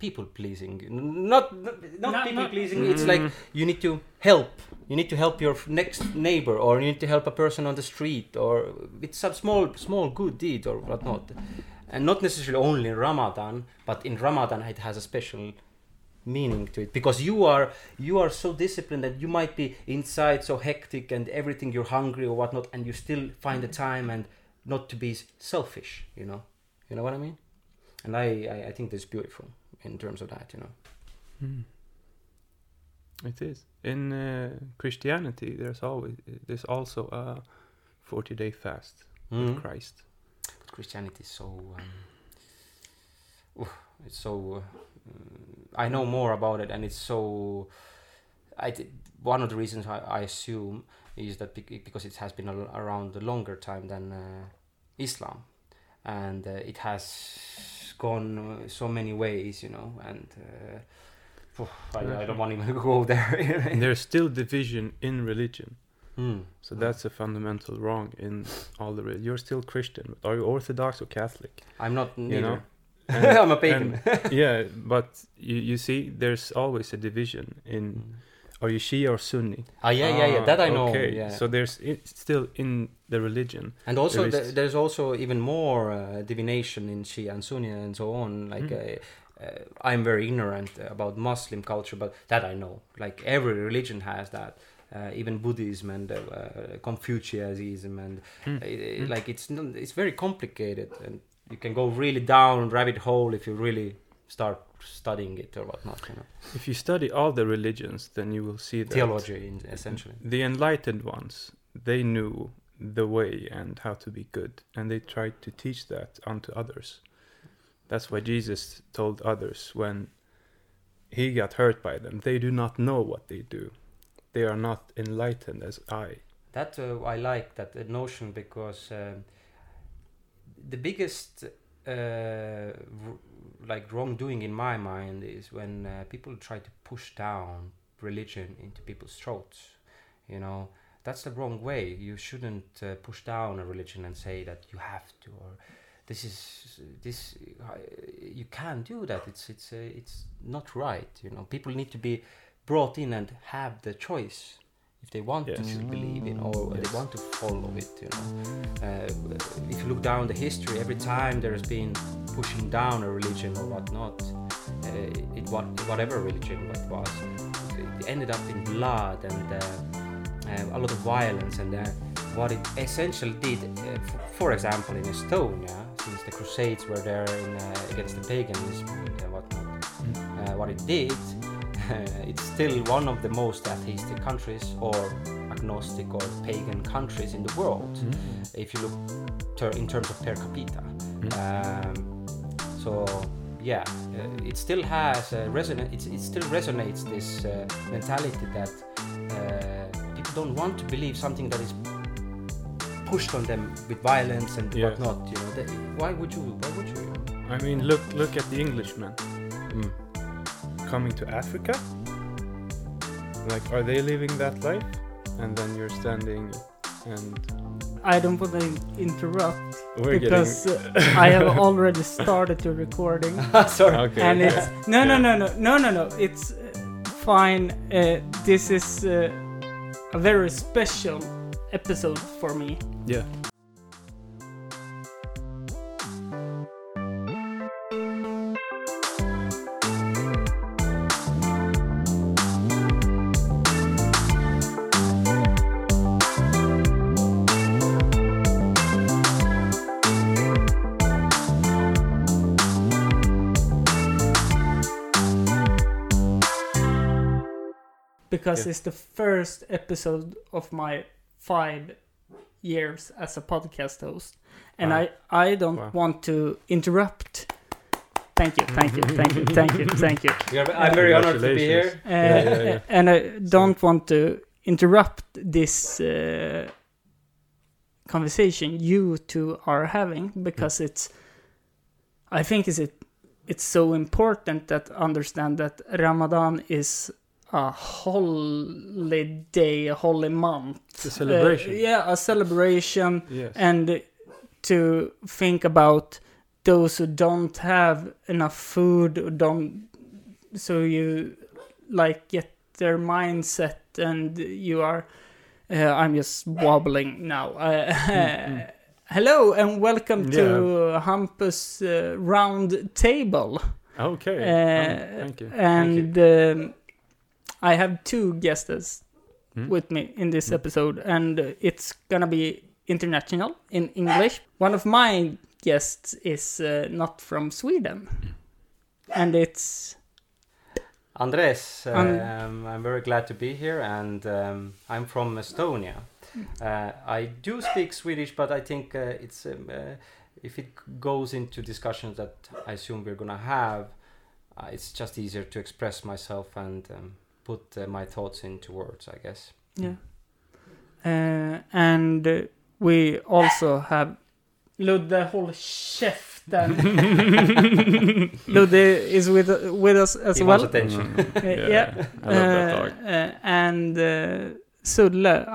people pleasing. Not people pleasing. It's like you need to help. You need to help your next neighbor, or you need to help a person on the street, or with some small good deed or whatnot. And not necessarily only in Ramadan, but in Ramadan it has a special meaning to it, because you are so disciplined that you might be inside so hectic and everything, you're hungry or whatnot, and you still find the time and not to be selfish. You know what I mean? And I think that's beautiful in terms of that. It is. In Christianity, there's also a 40-day fast with Christ. But Christianity is so it's so I know more about it, and it's so one of the reasons I assume is that because it has been around a longer time than Islam, and it has gone so many ways, and I don't want to even go there. And there's still division in religion. So that's a fundamental wrong in all the religion. You're still Christian. Are you Orthodox or Catholic? I'm not neither. And, I'm a pagan. Yeah, but you see, there's always a division in. Are you Shia or Sunni? Yeah. That I know. Okay, yeah. So it's still in the religion. And also, there's also even more divination in Shia and Sunni and so on. Like, I'm very ignorant about Muslim culture, but that I know. Like, every religion has that. Even Buddhism and Confucianism, and like it's very complicated, and you can go really down rabbit hole if you really start studying it or whatnot. If you study all the religions, then you will see that theology, essentially. The enlightened ones, they knew the way and how to be good, and they tried to teach that unto others. That's why Jesus told others when he got hurt by them, they do not know what they do. They are not enlightened as I. That I like that notion, because the biggest wrongdoing in my mind is when people try to push down religion into people's throats. That's the wrong way. You shouldn't push down a religion and say that you have to, or this you can't do that. It's not right. People need to be brought in and have the choice if they want to believe in, or they want to follow it. If you look down the history, every time there has been pushing down a religion or whatnot, whatever religion it was, it ended up in blood and a lot of violence. And what it essentially did, for example, in Estonia, since the Crusades were there against the paganism and whatnot, what it did. It's still one of the most atheistic countries, or agnostic or pagan countries in the world, if you look in terms of per capita. It still has it still resonates this mentality that people don't want to believe something that is pushed on them with violence and whatnot. Why would you? I mean, look at the Englishman. Coming to Africa, like, are they living that life? And then you're standing and I don't want to interrupt because I have already started the recording. Sorry. Okay. And it's no. It's fine. This is a very special episode for me. Yeah. Because it's the first episode of my 5 years as a podcast host. And I don't want to interrupt. Thank you. I'm very honored to be here. And I don't want to interrupt this conversation you two are having, because I think it's so important that understand that Ramadan is a holiday, a holy month. It's a celebration. A celebration. Yes. And to think about those who don't have enough food, or don't so you like get their mindset, and you are. I'm just wobbling now. Hello and welcome to Hampus Round Table. Okay. Thank you. And I have 2 guests with me in this episode, and it's gonna be international in English. One of my guests is not from Sweden, and it's Andres. I'm very glad to be here, and I'm from Estonia. I do speak Swedish, but I think it's if it goes into discussions that I assume we're gonna have, it's just easier to express myself and put my thoughts into words, I guess. Yeah. And we also have Ludde, håll käften. Ludde is with us as he well. Wants attention. Yeah. I love that dog. And Sulle,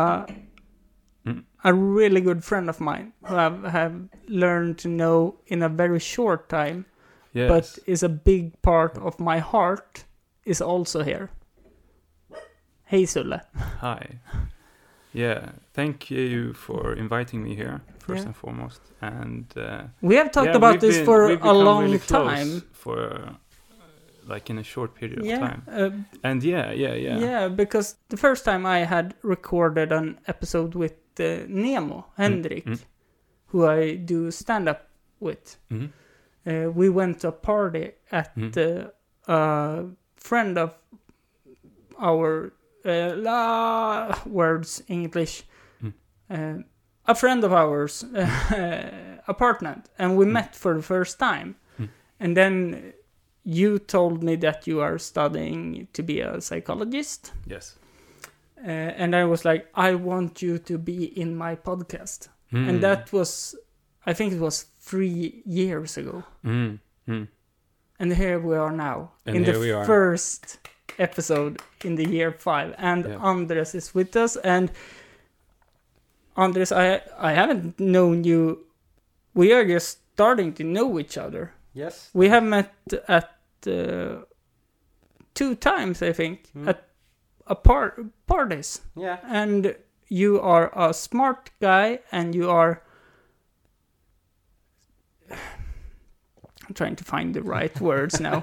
a really good friend of mine who have learned to know in a very short time, Yes. but is a big part of my heart, is also here. Hey Sulle. Hi. Yeah, thank you for inviting me here, first and foremost. And we have talked about this for a long really time. For like in a short period of time. And yeah. Yeah, because the first time I had recorded an episode with Nemo, Henrik, who I do stand-up with. We went to a party at a friend of our words English, a friend of ours apartment, and we met for the first time, and then you told me that you are studying to be a psychologist. Yes. And I was like, I want you to be in my podcast, and that was, I think it was 3 years ago, and here we are now, and in the first episode in the year 5, and Andres is with us. And Andres, I haven't known you. We are just starting to know each other. Yes. We have met at 2 times, I think, at parties. Yeah. And you are a smart guy, and you are. I'm trying to find the right words now.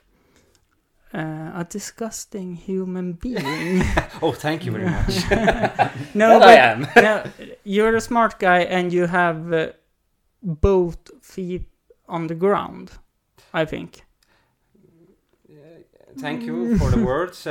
A disgusting human being. Oh, thank you very much. No, but I am. No, you're a smart guy, and you have both feet on the ground, I think. Thank you for the words.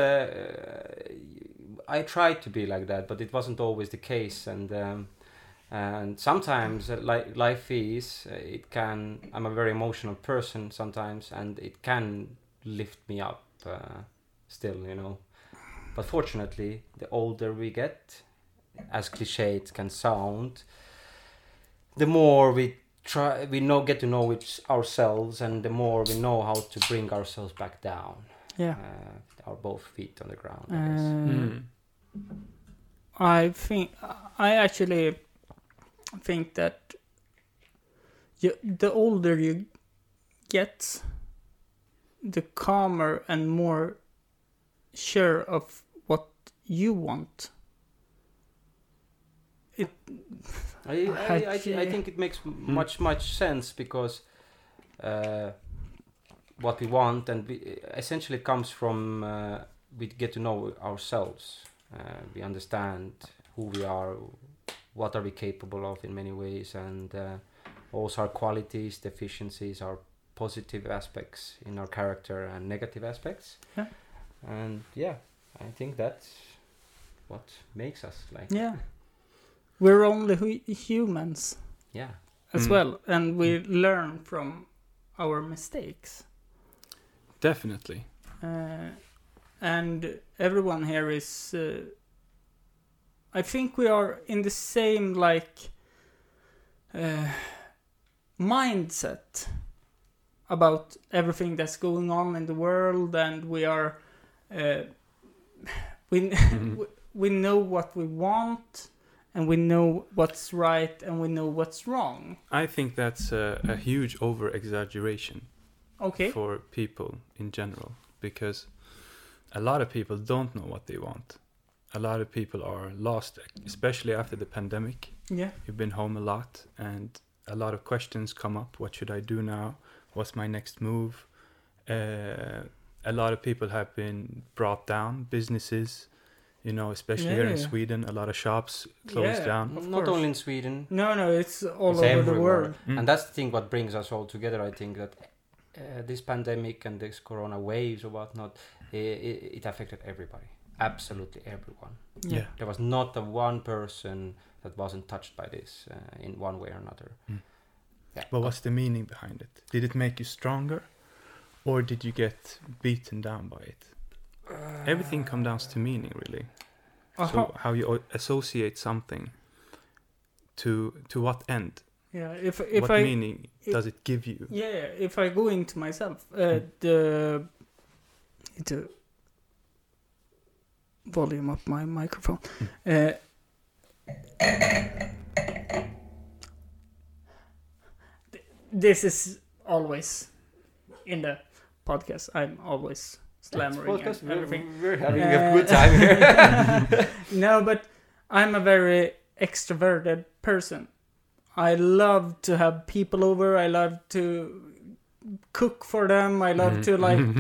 I tried to be like that, but it wasn't always the case, and sometimes life is it can. I'm a very emotional person sometimes, and it can lift me up still, you know. But fortunately, the older we get, as cliche it can sound, the more we get to know ourselves, and the more we know how to bring ourselves back down. Yeah. Our both feet on the ground, I guess. I actually think that the older you get, the calmer and more sure of what you want. I think it makes much sense, because what we want, and essentially it comes from we get to know ourselves. We understand who we are, what are we capable of in many ways, and also our qualities, deficiencies, our positive aspects in our character and negative aspects. Yeah. And I think that's what makes us like. Yeah. We're only humans. Yeah. As well, and we learn from our mistakes. Definitely. And everyone here is. I think we are in the same mindset about everything that's going on in the world, and we are. We know what we want, and we know what's right, and we know what's wrong. I think that's a huge over-exaggeration for people in general. because a lot of people don't know what they want. A lot of people are lost, especially after the pandemic. Yeah. You've been home a lot, and a lot of questions come up. What should I do now? What's my next move? A lot of people have been brought down, businesses, especially here in Sweden, a lot of shops closed down. Not only in Sweden. No, it's all over everywhere. The world. And that's the thing what brings us all together, I think, that this pandemic and this corona waves or whatnot, it affected everybody. Absolutely everyone. Yeah. There was not one person that wasn't touched by this in one way or another. Yeah. But what's the meaning behind it? Did it make you stronger? Or did you get beaten down by it? Everything comes down to meaning, really. So how you associate something to what end? Yeah, what meaning does it give you? Yeah, if I go into myself, the volume up my microphone. This is always in the podcast. I'm always slammering and everything. We're having a good time here. No, but I'm a very extroverted person. I love to have people over. I love to cook for them. I love to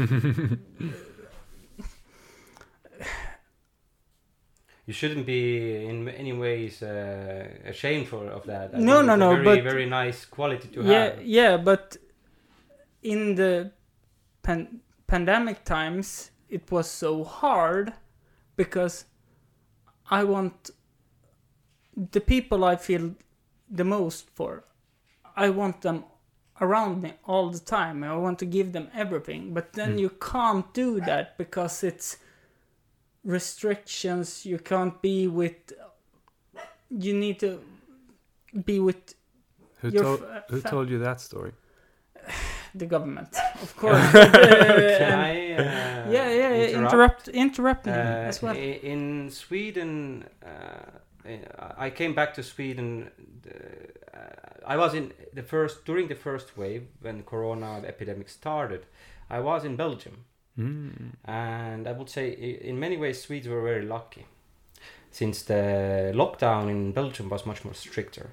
You shouldn't be in any ways ashamed of that. No, but very nice quality to have. Yeah, but in the pandemic times, it was so hard because I want the people I feel the most for. I want them around me all the time. I want to give them everything, but then you can't do that because it's restrictions. You can't be with. You need to be with. Who told you that story? The government, of course. Can I interrupt me as well. In Sweden, I came back to Sweden. I was during the first wave when Corona epidemic started. I was in Belgium, and I would say in many ways Swedes were very lucky, since the lockdown in Belgium was much more stricter,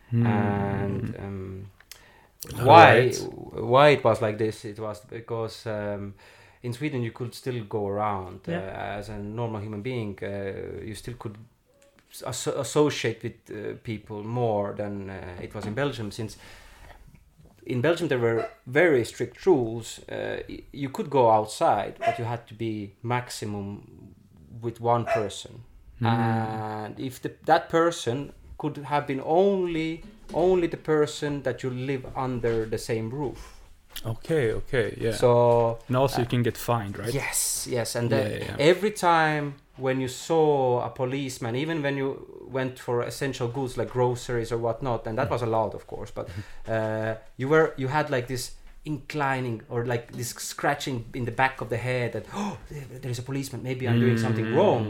and. Why it was like this? It was because in Sweden you could still go around as a normal human being. You still could associate with people more than it was in Belgium. Since in Belgium there were very strict rules. You could go outside, but you had to be maximum with one person, and if that person could have been only the person that you live under the same roof. Okay, yeah. So and also you can get fined, right? Yes, and every time when you saw a policeman, even when you went for essential goods like groceries or whatnot, and that was allowed, of course, but you had like this inclining or like this scratching in the back of the head that there is a policeman, maybe I'm doing something wrong,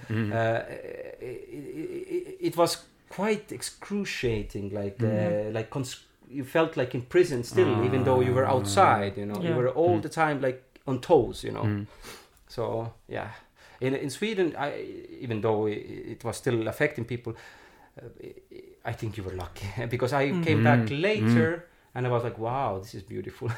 it was quite excruciating, you felt like in prison still, even though you were outside, you were all the time like on toes, So yeah, in Sweden, even though it was still affecting people, I think you were lucky because I came back later and I was like, wow, this is beautiful.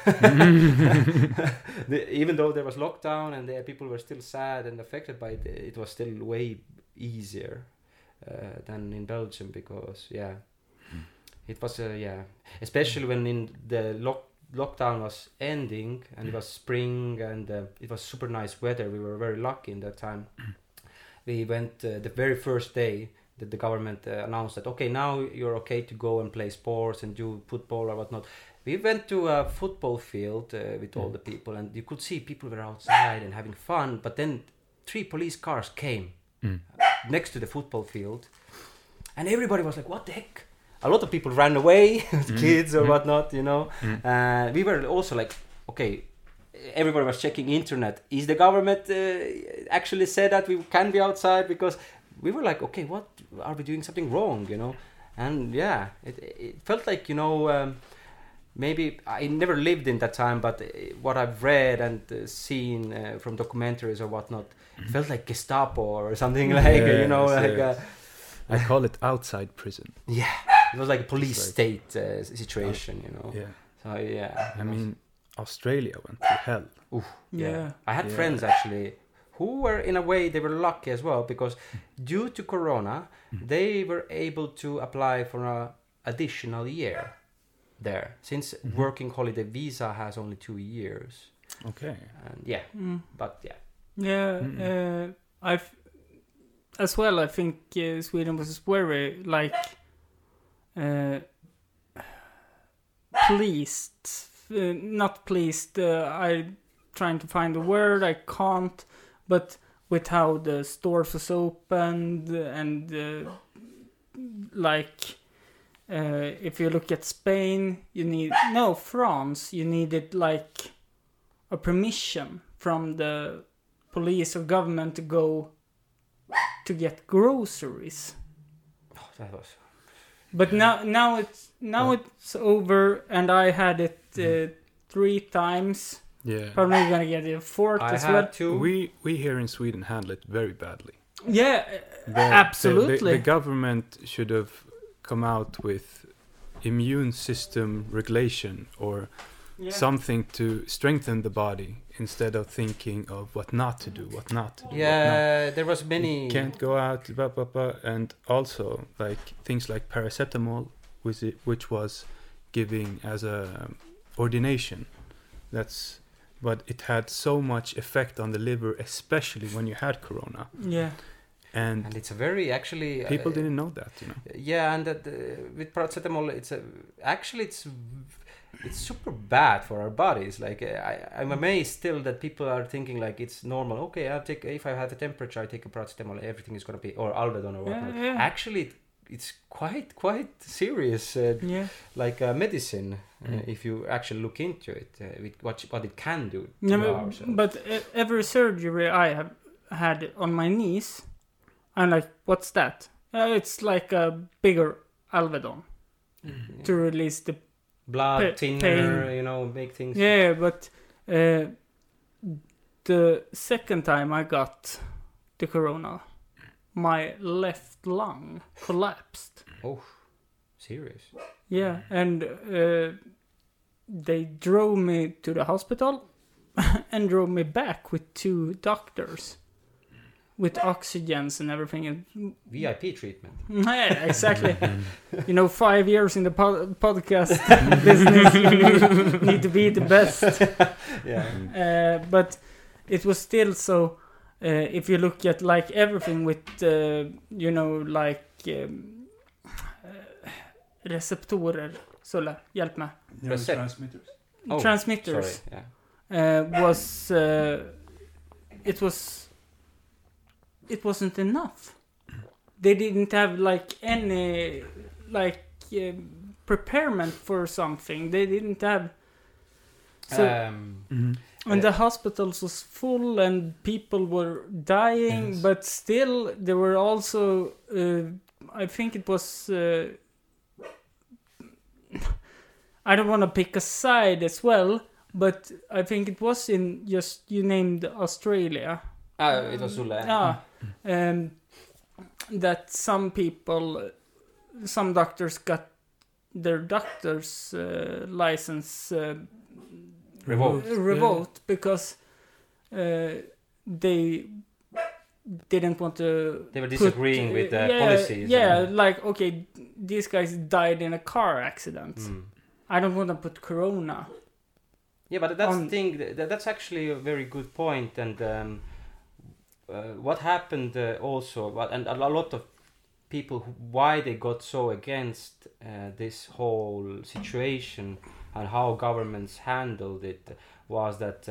Even though there was lockdown and people were still sad and affected by it, it was still way easier than in Belgium because it was especially when in the lockdown was ending and it was spring and it was super nice weather. We were very lucky in that time. We went the very first day that the government announced that okay, now you're okay to go and play sports and do football or whatnot. We went to a football field with all the people and you could see people were outside and having fun, but then 3 police cars came next to the football field and everybody was like, what the heck? A lot of people ran away with kids or whatnot, we were also like, okay, everybody was checking internet. Is the government actually said that we can be outside? Because we were like, okay, what are we doing something wrong, And it felt like, maybe I never lived in that time, but what I've read and seen from documentaries or whatnot, it felt like Gestapo or something like, you know, like... I call it outside prison. Yeah, it was like a police state situation, you know. Yeah. So, yeah. I mean, Australia went to hell. Oof, Yeah. I had friends, actually, who were, in a way, they were lucky as well, because due to Corona, they were able to apply for an additional year there, since working holiday visa has only 2 years. Okay. And but yeah. Yeah, as well, I think Sweden was very, like, pleased. Not pleased, I'm trying to find the word, I can't, but with how the stores was opened, and, like, if you look at Spain, France, you needed, like, a permission from the police or government to go to get groceries. Oh, that was... But now it's over, and I had it 3 times. Yeah. Probably gonna get it 4th as well. We here in Sweden handle it very badly. Yeah, absolutely. The government should have come out with immune system regulation or something to strengthen the body instead of thinking of what not to do. Yeah, there was many... You can't go out, blah, blah, blah. And also, like, things like paracetamol, which was giving as a ordination. But it had so much effect on the liver, especially when you had Corona. Yeah. And it's a very, actually... people didn't know that, you know. Yeah, and that with paracetamol, it's super bad for our bodies. Like, I'm amazed still that people are thinking like it's normal. Okay, if I have a temperature, I take a paracetamol, everything is gonna be, or Alvedon or whatnot. Yeah. Actually, it's quite serious, like medicine, if you actually look into it, with what it can do to ourselves. But every surgery I have had on my knees, I'm like, what's that? It's like a bigger Alvedon to release the blood thinner, you know, make things... Yeah, but the second time I got the Corona, my left lung collapsed. Oh, serious? Yeah, and they drove me to the hospital and drove me back with 2 doctors with oxygens and everything. VIP treatment. Yeah, exactly. 5 years in the podcast business, you need to be the best. Yeah. But it was still so. If you look at like everything with, receptorer. Sola, hjälp mig. Transmitters. Transmitters. Sorry, yeah. It wasn't enough. They didn't have like any preparement for something. They didn't have. So and the hospitals was full and people were dying, but still there were also. I think it was. I don't want to pick a side as well, but I think it was in just you named Australia. It was Sulle. That some doctors got their doctor's license revoked because they didn't want to. They were disagreeing with the policies. Yeah, like okay, these guys died in a car accident. I don't want to put Corona. Yeah, but that's the thing. That's actually a very good point, and what happened also, and a lot of people why they got so against this whole situation and how governments handled it was that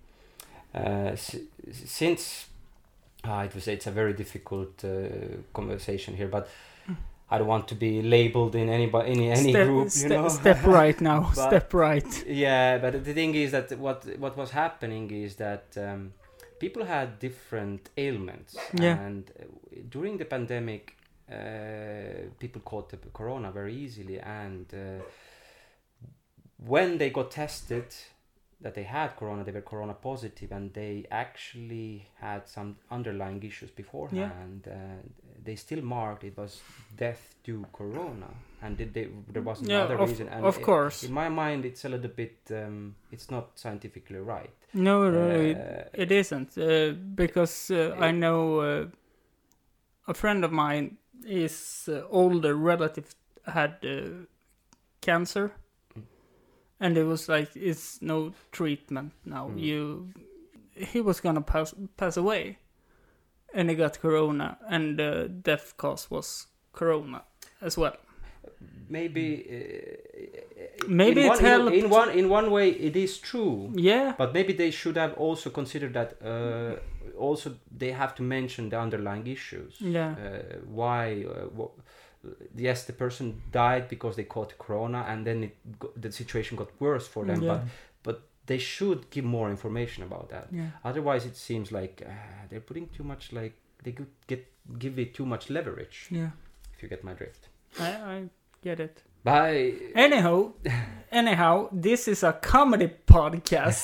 since it's a very difficult conversation here, but I don't want to be labeled in any group, Step right now. Step right. Yeah, but the thing is that what was happening is that people had different ailments, and during the pandemic, people caught the corona very easily, and when they got tested that they had corona, they were corona positive, and they actually had some underlying issues beforehand. They still marked it was death due corona, and there was another reason. And of course, in my mind, it's a little bit. It's not scientifically right. No, it isn't. Because I know a friend of mine, his older relative had cancer. And it was like, it's no treatment now. He was gonna pass away, and he got corona, and the death cause was corona as well. Maybe it helped. In one way, it is true. Yeah. But maybe they should have also considered that. Also, they have to mention the underlying issues. Yeah. Why? Yes, the person died because they caught corona, and then the situation got worse for them. Yeah. But they should give more information about that. Yeah. Otherwise, it seems like they're putting too much. Like they could give it too much leverage. Yeah. If you get my drift. I get it. Bye. Anyhow, this is a comedy podcast.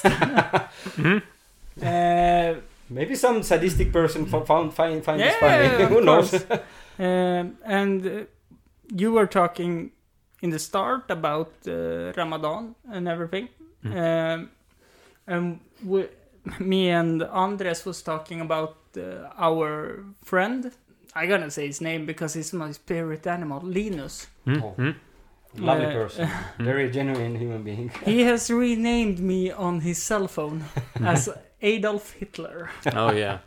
Maybe some sadistic person find this Yeah, funny. of Who knows? course. And you were talking in the start about Ramadan and everything. And me and Andres was talking about our friend. I'm gonna say his name because he's my spirit animal, Linus. Lovely person. Very genuine human being. He has renamed me on his cell phone as Adolf Hitler. Oh yeah.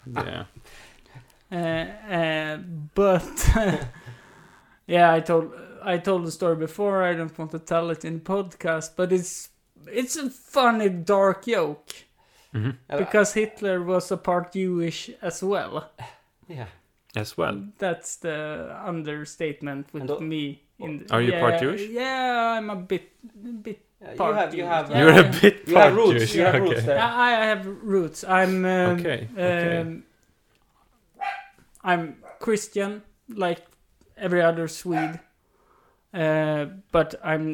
But yeah, I told the story before. I don't want to tell it in the podcast, but it's a funny dark joke because Hitler was a part Jewish as well. Yeah, as well. That's the understatement with me. Are you part Jewish? Yeah, I'm a bit. Part you have. You're a bit you part have roots. Jewish. You have Okay. roots there. I have roots. I'm Okay. I'm Christian, like every other Swede, but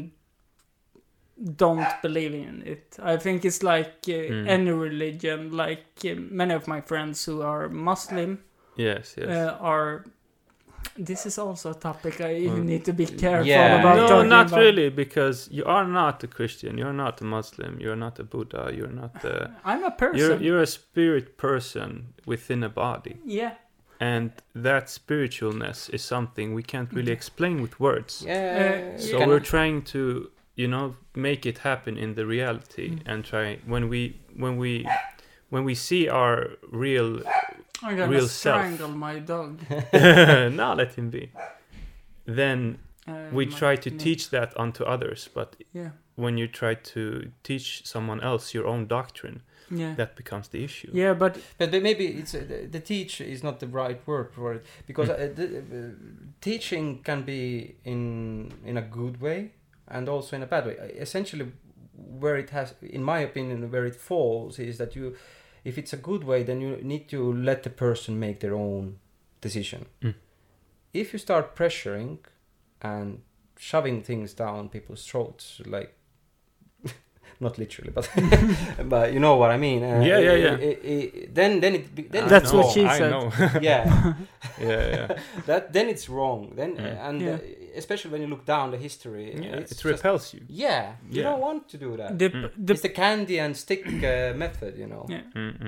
don't believe in it. I think it's like any religion. Like many of my friends who are Muslim, Yes. are. This is also a topic I need to be careful Yeah. about. No, talking not about. really, because you are not a Christian. You're not a Muslim. You're not a Buddha. You're not. I'm a person. You're a spirit person within a body. Yeah. And that spiritualness is something we can't really explain with words. Yeah. So we're trying to, make it happen in the reality and try when we see our real I'm gonna real self. strangle my dog. no, let him be. Then we try to teach that onto others, but when you try to teach someone else your own doctrine, that becomes the issue. Yeah, but maybe it's the teach is not the right word for it, because teaching can be in a good way and also in a bad way. Essentially, where it has, in my opinion, where it falls is that if it's a good way, then you need to let the person make their own decision. If you start pressuring and shoving things down people's throats, like not literally, but but you know what I mean. Then that's what she said. I know. yeah. Then it's wrong. Then especially when you look down the history, it repels you. Yeah, you don't want to do that. It's the candy and stick method, Yeah.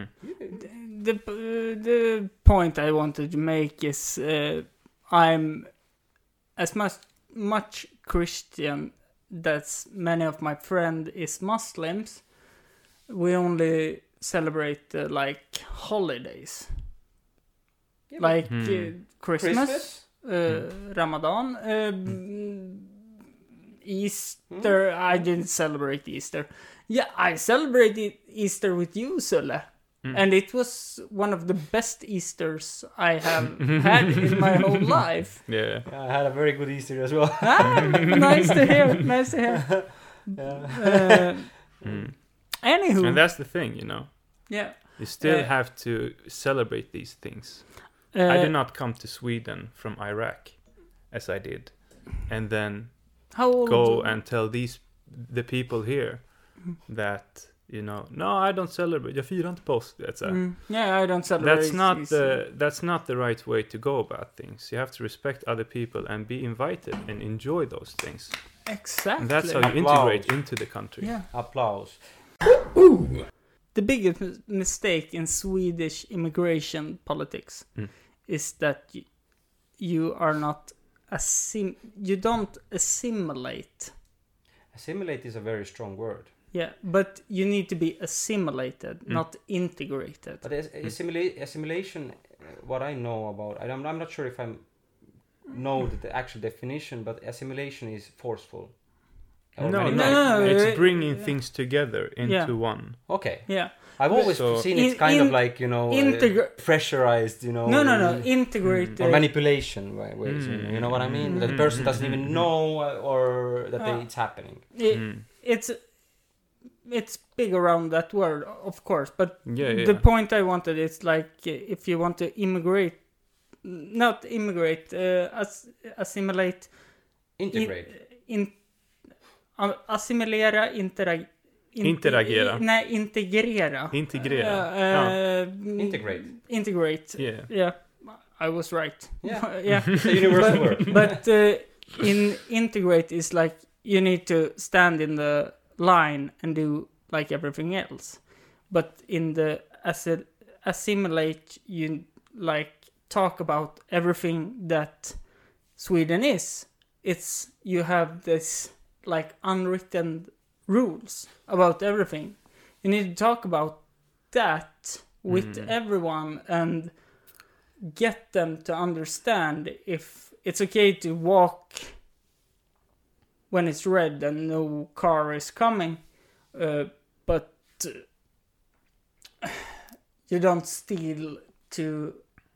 The point I wanted to make is I'm as much Christian that many of my friends is Muslims. We only celebrate like holidays, like Christmas. Ramadan, Easter. I didn't celebrate Easter. Yeah, I celebrated Easter with you, Sulle. And it was one of the best Easters I have had in my whole life. Yeah. I had a very good Easter as well. Nice to hear. Anywho. And that's the thing, Yeah. You still have to celebrate these things. I did not come to Sweden from Iraq, as I did, and then go and tell these the people here that, you know, no, I don't celebrate. Jag firar inte påsk. Yeah, I don't celebrate. That's not the right way to go about things. You have to respect other people and be invited and enjoy those things. Exactly. And that's how you integrate into the country. Yeah. Applause. The biggest mistake in Swedish immigration politics is that you are not you don't assimilate. Assimilate is a very strong word. Yeah, but you need to be assimilated, not integrated. But assimilation, what I know about, I'm not sure if I know the actual definition, but assimilation is forceful. No, it's bringing things together into one. Okay. Yeah. I've always seen it's kind of like, you know, pressurized, you know. No. Integrate. Or manipulation ways. You know what I mean? That the person doesn't even know or that it's happening. It's big around that word, of course. But the point I wanted is like if you want to assimilate. Integrate. Assimilera, interagera. Nej, integrera. Integrate. Yeah. I was right. Yeah. It's a universal word. But integrate is like you need to stand in the line and do like everything else. But in the assimilate, you like talk about everything that Sweden is. It's you have this like unwritten rules about everything. You need to talk about that with everyone and get them to understand if it's okay to walk when it's red and no car is coming, but you don't steal to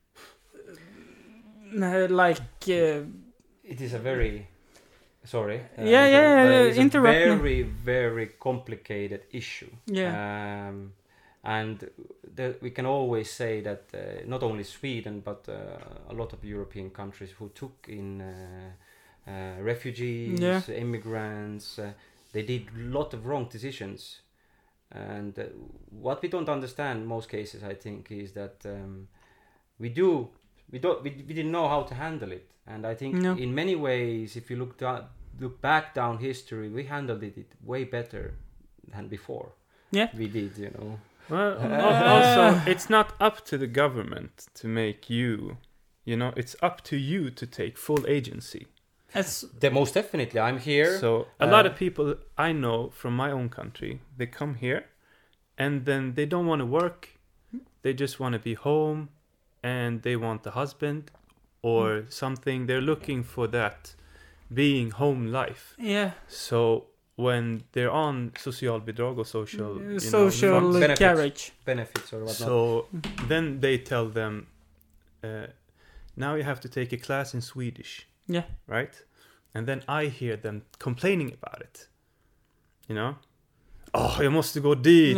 it is a very sorry. Interrupt very, very complicated issue. Yeah. And we can always say that not only Sweden, but a lot of European countries who took in refugees, immigrants, they did a lot of wrong decisions. And what we don't understand in most cases, I think, is that we didn't know how to handle it. And I think in many ways, if you look back down history, we handled it way better than before. Yeah, we did, you know. Well, also, it's not up to the government to make you know, it's up to you to take full agency. Most definitely, I'm here. So a lot of people I know from my own country, they come here and then they don't want to work. They just want to be home and they want a husband or something. They're looking for that being home life. Yeah. So when they're on socialbidrag or social benefits or whatnot. So then they tell them, now you have to take a class in Swedish. Yeah. Right? And then I hear them complaining about it. You know? Oh, jag måste gå dit.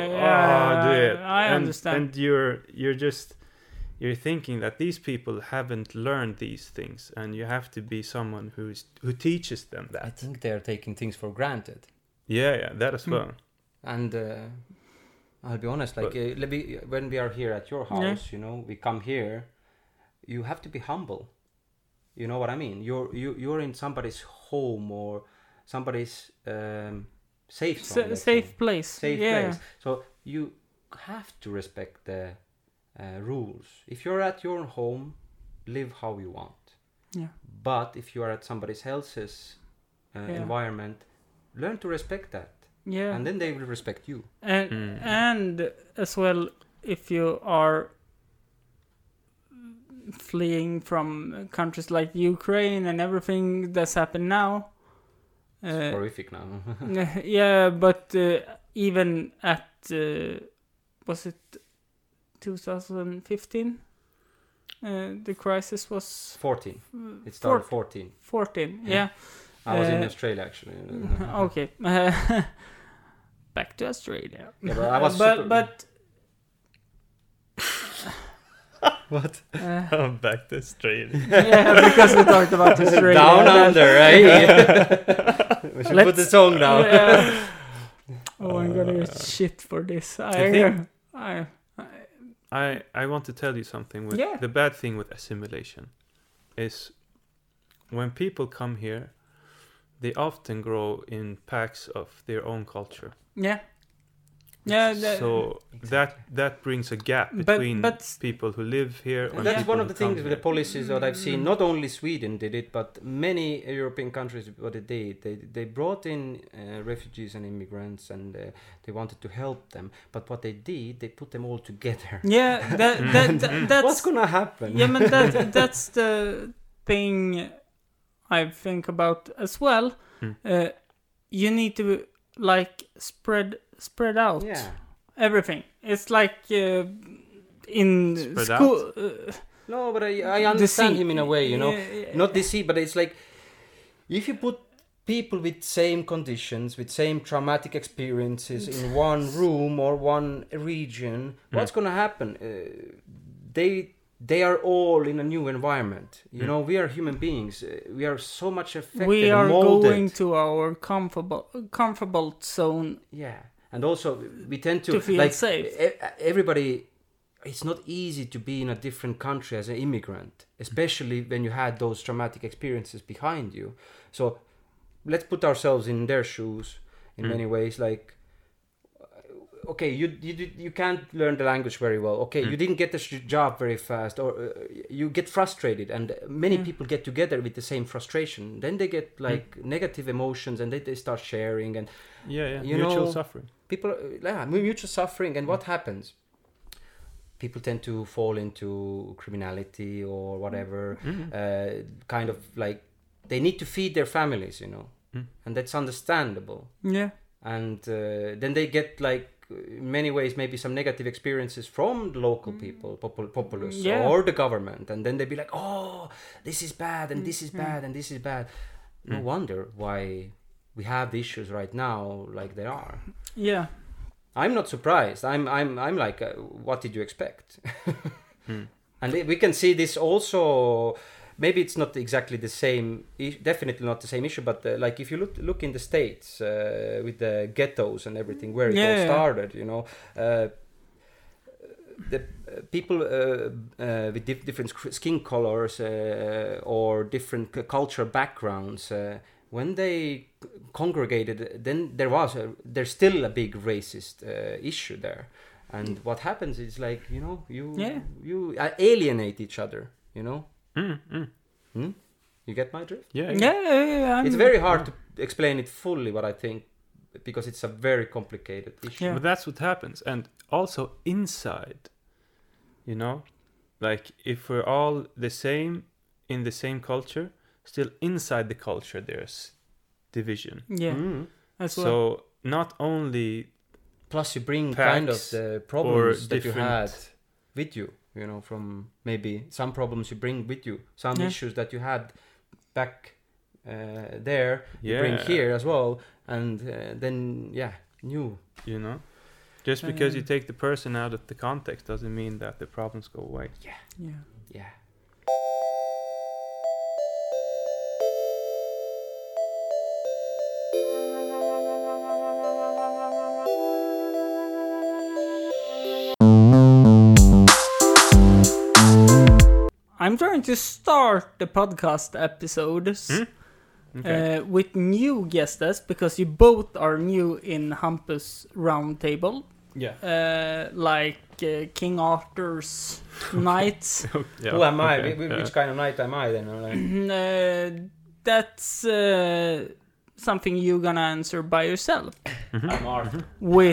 I understand. And you're thinking that these people haven't learned these things, and you have to be someone who teaches them that. I think they're taking things for granted. Yeah, that as well. And I'll be honest, like when we are here at your house, you know, we come here, you have to be humble. You know what I mean? You're in somebody's home or somebody's safe zone, safe place. Place. So you have to respect the rules. If you're at your home, live how you want. Yeah. But if you are at somebody else's environment, learn to respect that. Yeah. And then they will respect you. And as well, if you are fleeing from countries like Ukraine and everything that's happened now. It's horrific now. Yeah, but even at was it 2015? The crisis was 14. It started 14. 14. Yeah. I was in Australia actually. Okay. Back to Australia. Yeah, but I was but What? I'm back to Australia. Yeah, because we talked about Australia. Down under, right? We should put the song down. Yeah. Oh, I'm gonna get shit for this. I want to tell you something. Yeah. The bad thing with assimilation is when people come here, they often grow in packs of their own culture. Yeah. Yeah. So that brings a gap between people who live here. And that's one of the things with the policies that I've seen. Not only Sweden did it, but many European countries. What they did, they brought in refugees and immigrants, and they wanted to help them. But what they did, they put them all together. Yeah, that's what's gonna happen. Yeah, but that's the thing I think about as well. You need to spread out everything. It's like in spread school. No, but I understand him in a way, you know. Not DC, but it's like if you put people with same conditions, with same traumatic experiences in one room or one region, what's going to happen? They are all in a new environment. You know, we are human beings. We are so much affected. We are molded. going to our comfortable zone. Yeah, and also we tend to feel safe. Everybody. It's not easy to be in a different country as an immigrant, especially when you had those traumatic experiences behind you. So let's put ourselves in their shoes in many ways. Like, okay, you can't learn the language very well. Okay, you didn't get the job very fast, or you get frustrated, and many people get together with the same frustration. Then they get like negative emotions, and they start sharing, and mutual suffering. People, mutual suffering, and what happens? People tend to fall into criminality or whatever, kind of like they need to feed their families, you know, and that's understandable. Yeah. And then they get like, in many ways, maybe some negative experiences from the local people, populace, or the government, and then they be like, oh, this is bad, and this is bad, and this is bad. No wonder why we have the issues right now like they are. Yeah. I'm not surprised. I'm like, what did you expect? And we can see this also. Maybe it's not exactly the same. Definitely not the same issue. But like if you look in the States with the ghettos and everything, where it all started, you know, the people with different skin colors or different cultural backgrounds. When they congregated, then there's still a big racist issue there, and what happens is like, you know, you alienate each other, you know. You get my drift? Yeah. It's very hard to explain it fully, what I think, because it's a very complicated issue. Yeah. But that's what happens, and also inside, you know, like if we're all the same in the same culture. Still inside the culture there's division. As well. So not only plus you bring kind of the problems that you had with you, you know, from maybe some problems you bring with you, some issues that you had back there, you bring here as well, and then new, you know, just because you take the person out of the context doesn't mean that the problems go away. Yeah. I'm trying to start the podcast episodes with new guests because you both are new in Hampus Roundtable. Yeah. Like King Arthur's knights. Who am I? Which kind of knight am I then? That's something you're gonna answer by yourself. I'm Arthur. With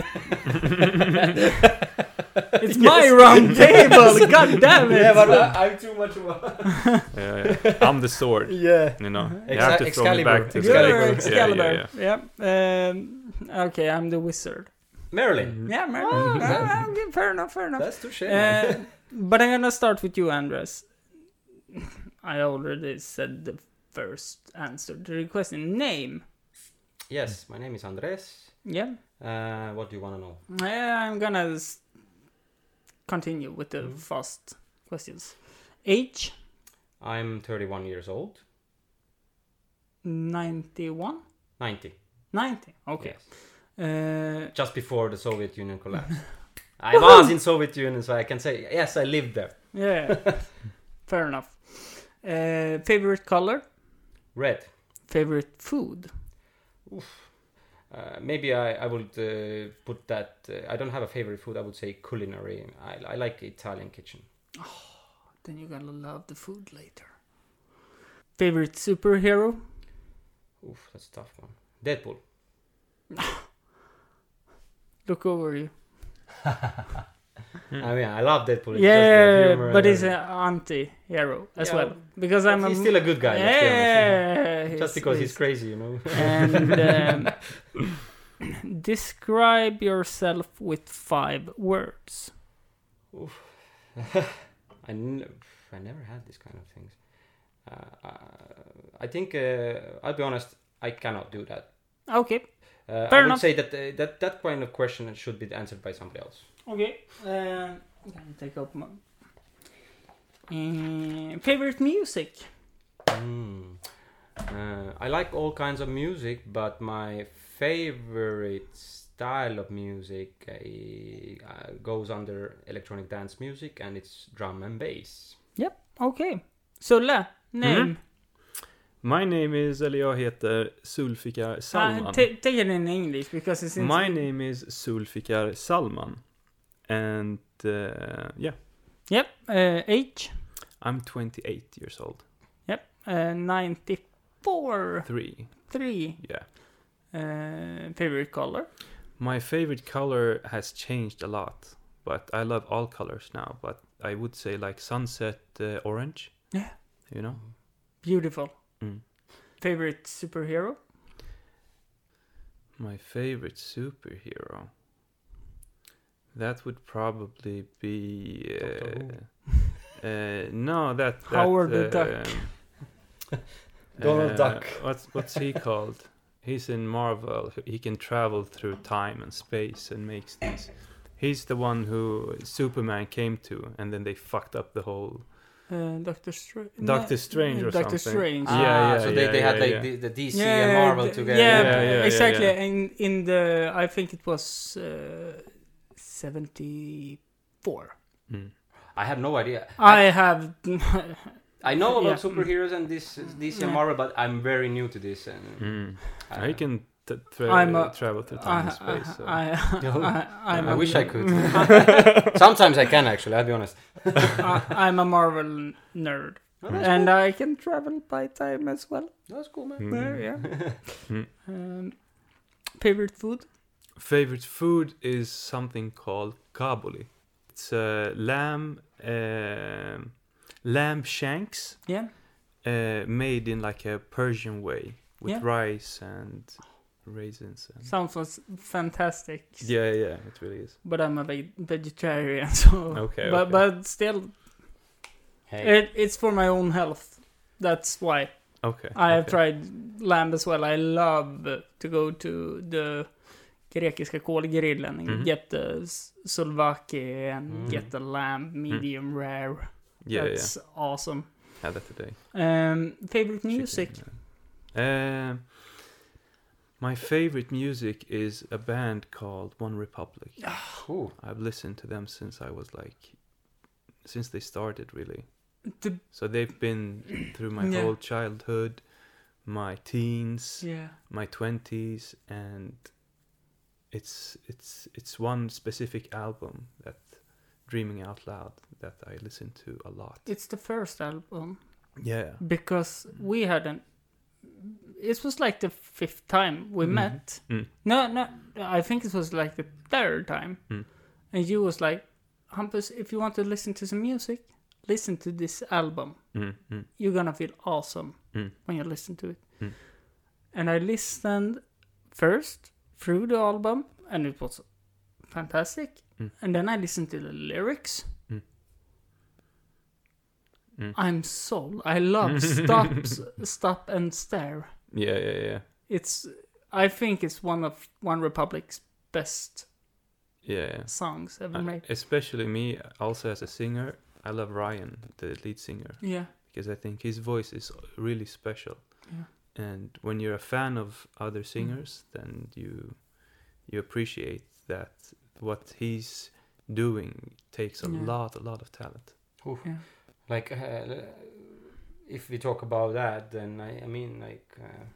it's my round table. God damn it! Yeah, but I'm too much of a... I'm the sword. Yeah. You know. You have to throw me back to Excalibur. Yeah. Okay, I'm the wizard. Merlin. Yeah, Merlin. Fair enough. That's touche. But I'm gonna start with you, Andres. I already said the first answer to the question. Name. Yes, my name is Andres. Yeah. What do you want to know? I'm gonna continue with the questions. Age? I'm 31 years old. 91? 90. 90, okay. Yes. Just before the Soviet Union collapsed. I was in Soviet Union, so I can say, yes, I lived there. Yeah, fair enough. Favorite color? Red. Favorite food? Maybe I would put that... I don't have a favorite food, I would say culinary. I like Italian kitchen. Oh, then you're gonna love the food later. Favorite superhero? Oof, that's a tough one. Deadpool. Look over you. I mean, I love Deadpool. It's yeah, but he's an anti-hero as well. Because he's still a good guy, let's be honest. Just because he's crazy, you know. And describe yourself with 5 words. Oof. I never had this kind of things. I think, I'll be honest, I cannot do that. Okay. I would say that kind of question should be answered by somebody else. Okay. Can I take up my favorite music? I like all kinds of music, but my favorite style of music goes under electronic dance music, and it's drum and bass. Yep. Okay. Sulle, name. My name is, eller jag heter Zulfikar Salman. Take it in English because it's My name is Zulfikar Salman. And yeah. Yep. Age? I'm 28 years old. Yep. 94. 3. Yeah. Favorite color? My favorite color has changed a lot, but I love all colors now. But I would say like sunset orange. Yeah. You know? Beautiful. Mm. Favorite superhero? My favorite superhero? That would probably be... no, that Howard the Duck. Donald Duck. What's he called? He's in Marvel. He can travel through time and space and makes these. He's the one who Superman came to, and then they fucked up the whole... Doctor Strange. Doctor Strange or Doctor something. Strange. Yeah. So they had like the DC and Marvel together. Yeah, exactly. In the, I think it was 74. I have no idea. I know about superheroes and this DC and Marvel, but I'm very new to this. And I can travel through time and space. So. I wish I could. Sometimes I can actually. I'll be honest. I'm a Marvel nerd, and cool. I can travel by time as well. That's cool, man. Yeah. Favorite food? Favorite food is something called kabuli. It's lamb shanks. Yeah. Made in like a Persian way with rice and raisins. And sounds fantastic. Yeah, it really is. But I'm a vegetarian, so okay. But still, it's for my own health. That's why. Okay. I have tried lamb as well. I love to go to the grekiska kolgrillen and get the souvlaki and get the lamb medium rare. That's awesome. Had that today. Favorite music? My favorite music is a band called One Republic. Cool. I've listened to them since they started, really. So they've been through my whole childhood, my teens, my 20s, and it's one specific album, that Dreaming Out Loud, that I listen to a lot. It's the first album. Yeah. Because we hadn't... It was like the 5th time we met. No, I think it was like the 3rd time. And you was like, Hampus, if you want to listen to some music, listen to this album. You're gonna feel awesome when you listen to it. And I listened first through the album, and it was fantastic. And then I listened to the lyrics. I'm sold. I love Stop and Stare. Yeah. I think it's one of One Republic's best yeah. songs ever made. Especially me, also as a singer, I love Ryan, the lead singer, Yeah. because I think his voice is really special. Yeah. And when you're a fan of other singers, then you appreciate that what he's doing takes a lot of talent. Oof. Yeah. Like, if we talk about that, then I mean, like,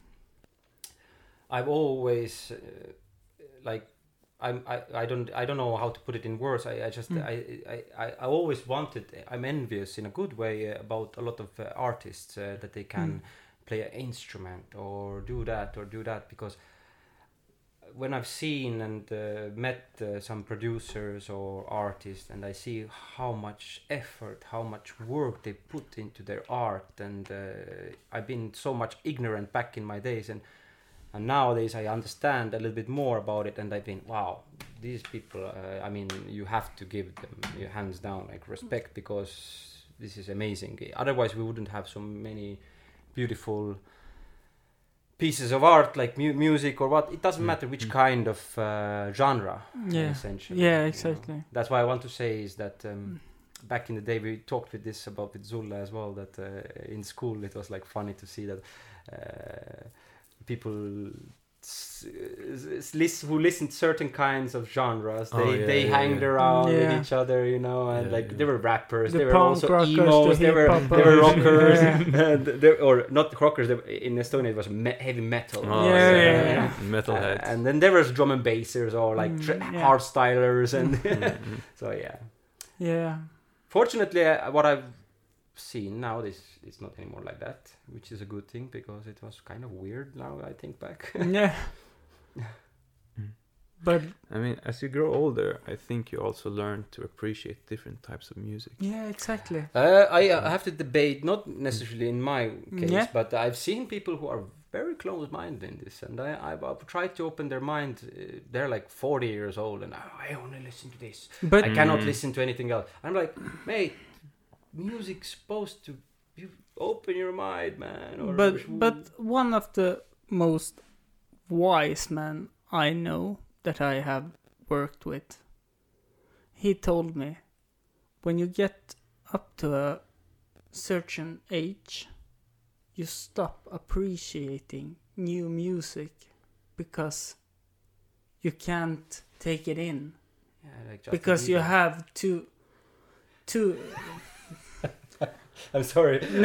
I've always like, I don't know how to put it in words. I just I always wanted. I'm envious in a good way about a lot of artists that they can play an instrument or do that because when I've seen and met some producers or artists, and I see how much effort, how much work they put into their art, and I've been so much ignorant back in my days, and nowadays I understand a little bit more about it, and I think, wow, these people, I mean, you have to give them your hands down, like, respect, because this is amazing. Otherwise we wouldn't have so many beautiful pieces of art, like music or what. It doesn't matter which kind of genre, essentially. Yeah, exactly. You know? That's why I want to say is that back in the day we talked with Zulla as well, that in school it was like funny to see that people who listen to certain kinds of genres, they hanged around with each other, you know, and they were rappers, they were also emos, they were rockers, or not rockers. In Estonia it was heavy metal, metalheads, and then there was drum and bassers or like hardstylers, and so Fortunately, what I've seen now, it's not anymore like that, which is a good thing, because it was kind of weird now I think back. But I mean, as you grow older, I think you also learn to appreciate different types of music. Yeah, exactly. I have to debate, not necessarily in my case, but I've seen people who are very close-minded in this, and I've tried to open their mind. They're like 40 years old, and I only listen to this. But I cannot listen to anything else. I'm like, mate, music's supposed to open your mind, man. But one of the most wise men I know that I have worked with, he told me, when you get up to a certain age, you stop appreciating new music because you can't take it in, because you have to I'm sorry. No,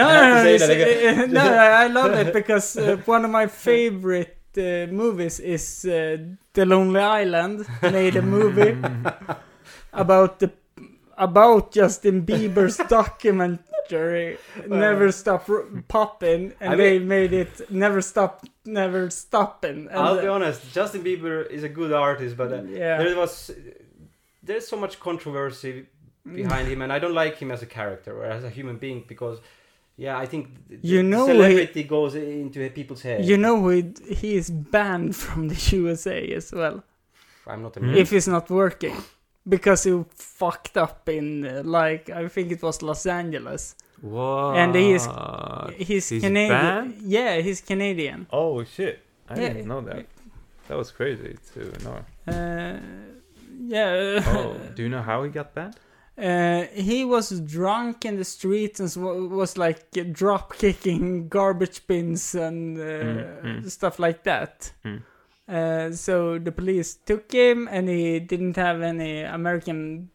I love it, because one of my favorite movies is The Lonely Island. Made a movie about Justin Bieber's documentary Never Stop Poppin', and they made it Never Stoppin'. I'll be honest, Justin Bieber is a good artist, but there's so much controversy behind him, and I don't like him as a character or as a human being, because I think celebrity goes into people's heads. You know, he is banned from the USA as well. I'm not if he's not working, because he fucked up in I think it was Los Angeles. What? And he's Canadian. Banned? Yeah, he's Canadian. Oh shit! I didn't know that. That was crazy to know. Do you know how he got banned? He was drunk in the streets and was like drop kicking garbage bins and stuff like that. So the police took him, and he didn't have any American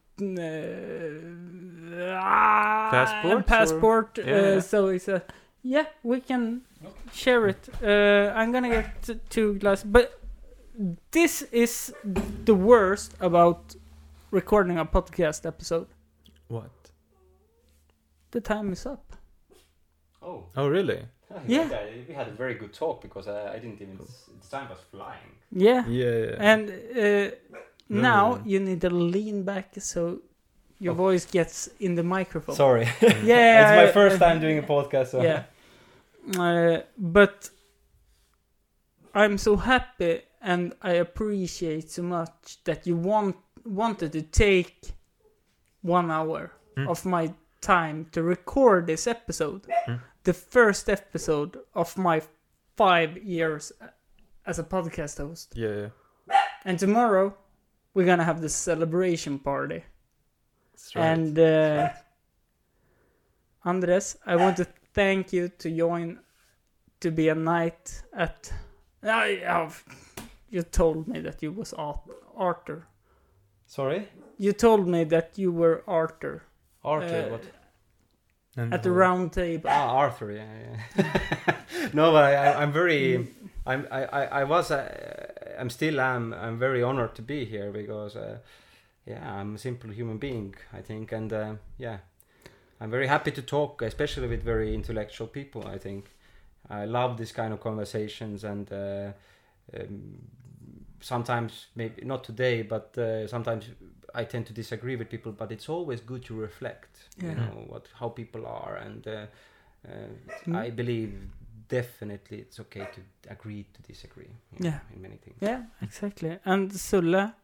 passport. So he said, "Yeah, we can share it. I'm gonna get 2 glasses." But this is the worst about recording a podcast episode. What? The time is up. Oh really? Yeah. We had a very good talk, because I didn't even... The time was flying. Yeah. And now no. you need to lean back so your voice gets in the microphone. Sorry. Yeah. It's my first time doing a podcast. So. Yeah. But I'm so happy, and I appreciate so much that you wanted to take 1 hour of my time to record this episode. The first episode of my 5 years as a podcast host. Yeah. And tomorrow we're gonna have the celebration party. That's right. And Andres, I want to thank you to join to be a knight at... You told me that you was Arthur. Sorry? You told me that you were Arthur. Arthur, what? At the round table. Arthur, yeah. No, but I'm very... I'm still am. I'm very honored to be here because, I'm a simple human being, I think. And, I'm very happy to talk, especially with very intellectual people, I think. I love this kind of conversations, and sometimes, maybe not today, but sometimes I tend to disagree with people, but it's always good to reflect, you know, how people are, and I believe definitely it's okay to agree to disagree, you know, in many things. Yeah, exactly. And Sulle,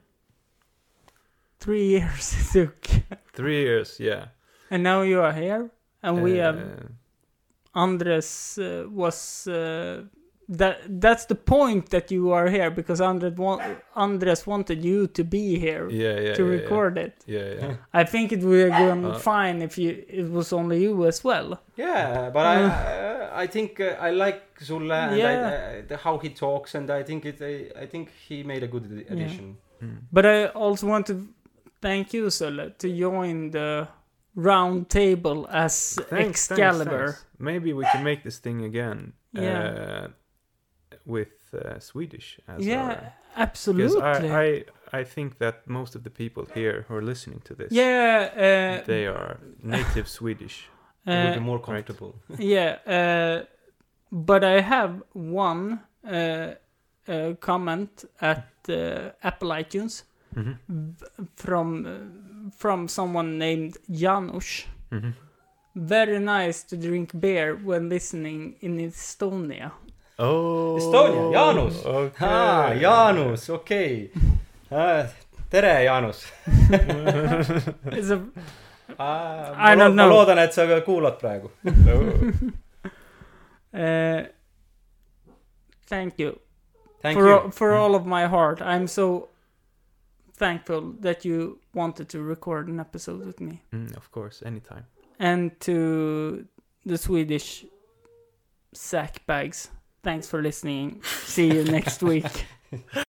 3 years it took. 3 years, yeah. And now you are here, and we have Andres was that's the point that you are here, because Andres wanted you to be here to record it. Yeah. I think it would have gone fine if it was only you as well. Yeah, but I think I like Sulle and how he talks, and I think he made a good addition. Yeah. But I also want to thank you, Sulle, to join the round table as Excalibur. Thanks. Maybe we can make this thing again. With Swedish as absolutely. Because I think that most of the people here who are listening to this, they are native Swedish. It would be more comfortable. Right? But I have one comment at Apple iTunes from someone named Janusz. Very nice to drink beer when listening in Estonia. Oh, Estonia, Jaanus. Okay. Jaanus, okei. Tere, Jaanus. I don't know. Ma loodan, et sa kuulad praegu. Thank you. Thank you. For all of my heart. I'm so thankful that you wanted to record an episode with me. Of course, anytime. And to the Swedish sack bags. Thanks for listening. See you next week.